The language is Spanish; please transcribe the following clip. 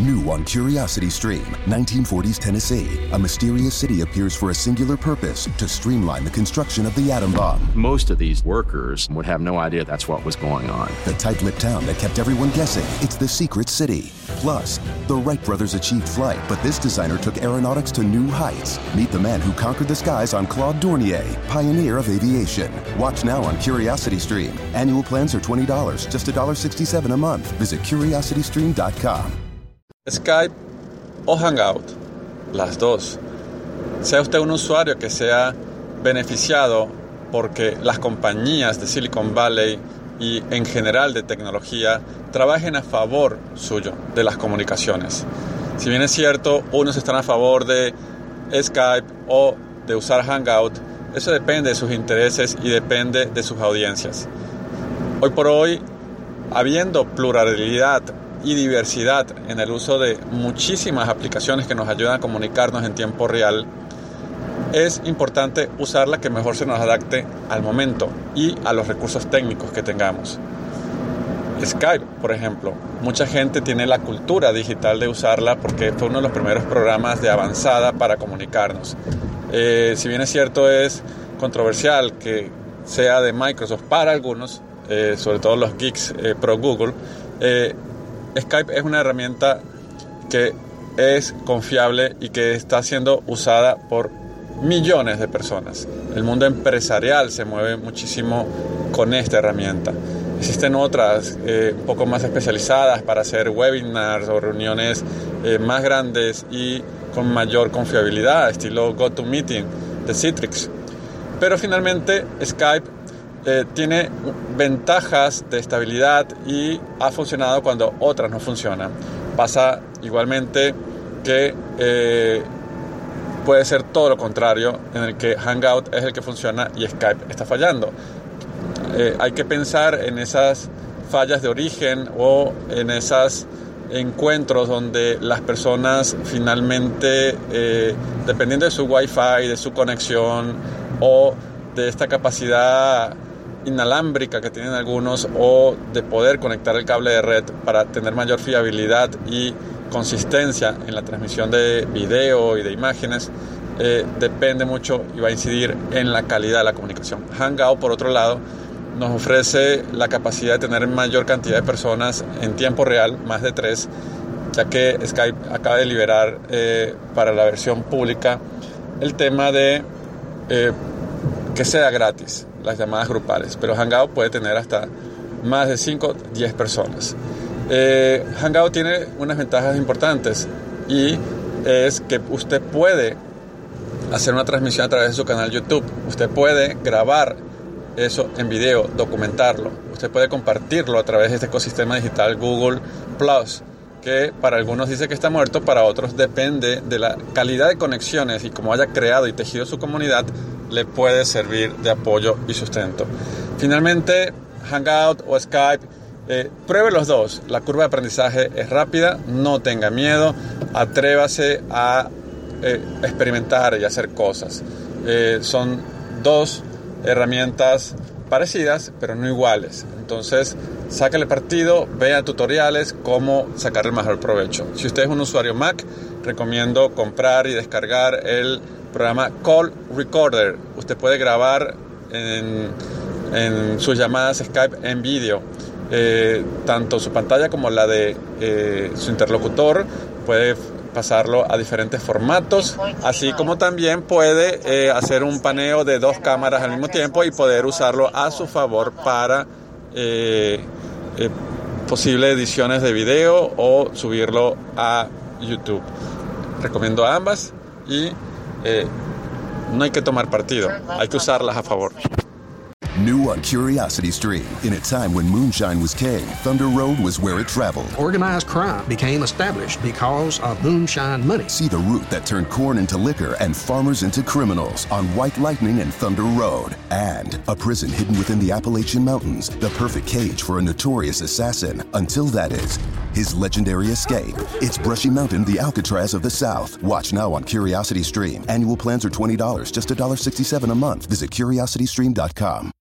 New on CuriosityStream, 1940s Tennessee. A mysterious city appears for a singular purpose, to streamline the construction of the atom bomb. Most of these workers would have no idea that's what was going on. The tight-lipped town that kept everyone guessing, it's the secret city. Plus, the Wright brothers achieved flight, but this designer took aeronautics to new heights. Meet the man who conquered the skies on Claude Dornier, pioneer of aviation. Watch now on CuriosityStream. Annual plans are $20, just $1.67 a month. Visit CuriosityStream.com. Skype o Hangout, las dos. Sea usted un usuario que sea beneficiado porque las compañías de Silicon Valley y en general de tecnología trabajen a favor suyo de las comunicaciones. Si bien es cierto, unos están a favor de Skype o de usar Hangout, eso depende de sus intereses y depende de sus audiencias. Hoy por hoy, habiendo pluralidad y diversidad en el uso de muchísimas aplicaciones que nos ayudan a comunicarnos en tiempo real, es importante usar la que mejor se nos adapte al momento y a los recursos técnicos que tengamos. Skype, por ejemplo, mucha gente tiene la cultura digital de usarla porque fue uno de los primeros programas de avanzada para comunicarnos. Si bien es cierto, es controversial que sea de Microsoft para algunos, sobre todo los geeks pro Google, Skype es una herramienta que es confiable y que está siendo usada por millones de personas. El mundo empresarial se mueve muchísimo con esta herramienta. Existen otras un poco más especializadas para hacer webinars o reuniones más grandes y con mayor confiabilidad, estilo GoToMeeting de Citrix. Pero finalmente Skype tiene ventajas de estabilidad y ha funcionado cuando otras no funcionan. Pasa igualmente que puede ser todo lo contrario, en el que Hangout es el que funciona y Skype está fallando. Hay que pensar en esas fallas de origen o en esos encuentros donde las personas finalmente, dependiendo de su Wi-Fi, de su conexión o de esta capacidad inalámbrica que tienen algunos o de poder conectar el cable de red para tener mayor fiabilidad y consistencia en la transmisión de video y de imágenes, depende mucho y va a incidir en la calidad de la comunicación. Hangout, por otro lado, nos ofrece la capacidad de tener mayor cantidad de personas en tiempo real, más de 3, ya que Skype acaba de liberar para la versión pública el tema de que sea gratis las llamadas grupales, pero Hangout puede tener hasta más de 5, 10 personas. Hangout tiene unas ventajas importantes y es que usted puede hacer una transmisión a través de su canal YouTube, usted puede grabar eso en video, documentarlo, usted puede compartirlo a través de este ecosistema digital Google Plus, que para algunos dice que está muerto, para otros depende de la calidad de conexiones y cómo haya creado y tejido su comunidad, le puede servir de apoyo y sustento. Finalmente, Hangout o Skype, pruebe los dos. La curva de aprendizaje es rápida, no tenga miedo, atrévase a experimentar y hacer cosas. Son dos herramientas parecidas, pero no iguales. Entonces, sácale partido, vea tutoriales, cómo sacar el mejor provecho. Si usted es un usuario Mac, recomiendo comprar y descargar el programa Call Recorder. Usted puede grabar en sus llamadas Skype en vídeo, tanto su pantalla como la de su interlocutor. Puede pasarlo a diferentes formatos, así como también puede hacer un paneo de 2 cámaras al mismo tiempo y poder usarlo a su favor para posibles ediciones de video o subirlo a YouTube. Recomiendo ambas y no hay que tomar partido, hay que usarlas a favor. New on CuriosityStream. In a time when moonshine was king, Thunder Road was where it traveled. Organized crime became established because of moonshine money. See the route that turned corn into liquor and farmers into criminals on White Lightning and Thunder Road. And a prison hidden within the Appalachian Mountains, the perfect cage for a notorious assassin. Until that is his legendary escape. It's Brushy Mountain, the Alcatraz of the South. Watch now on CuriosityStream. Annual plans are $20, just $1.67 a month. Visit CuriosityStream.com.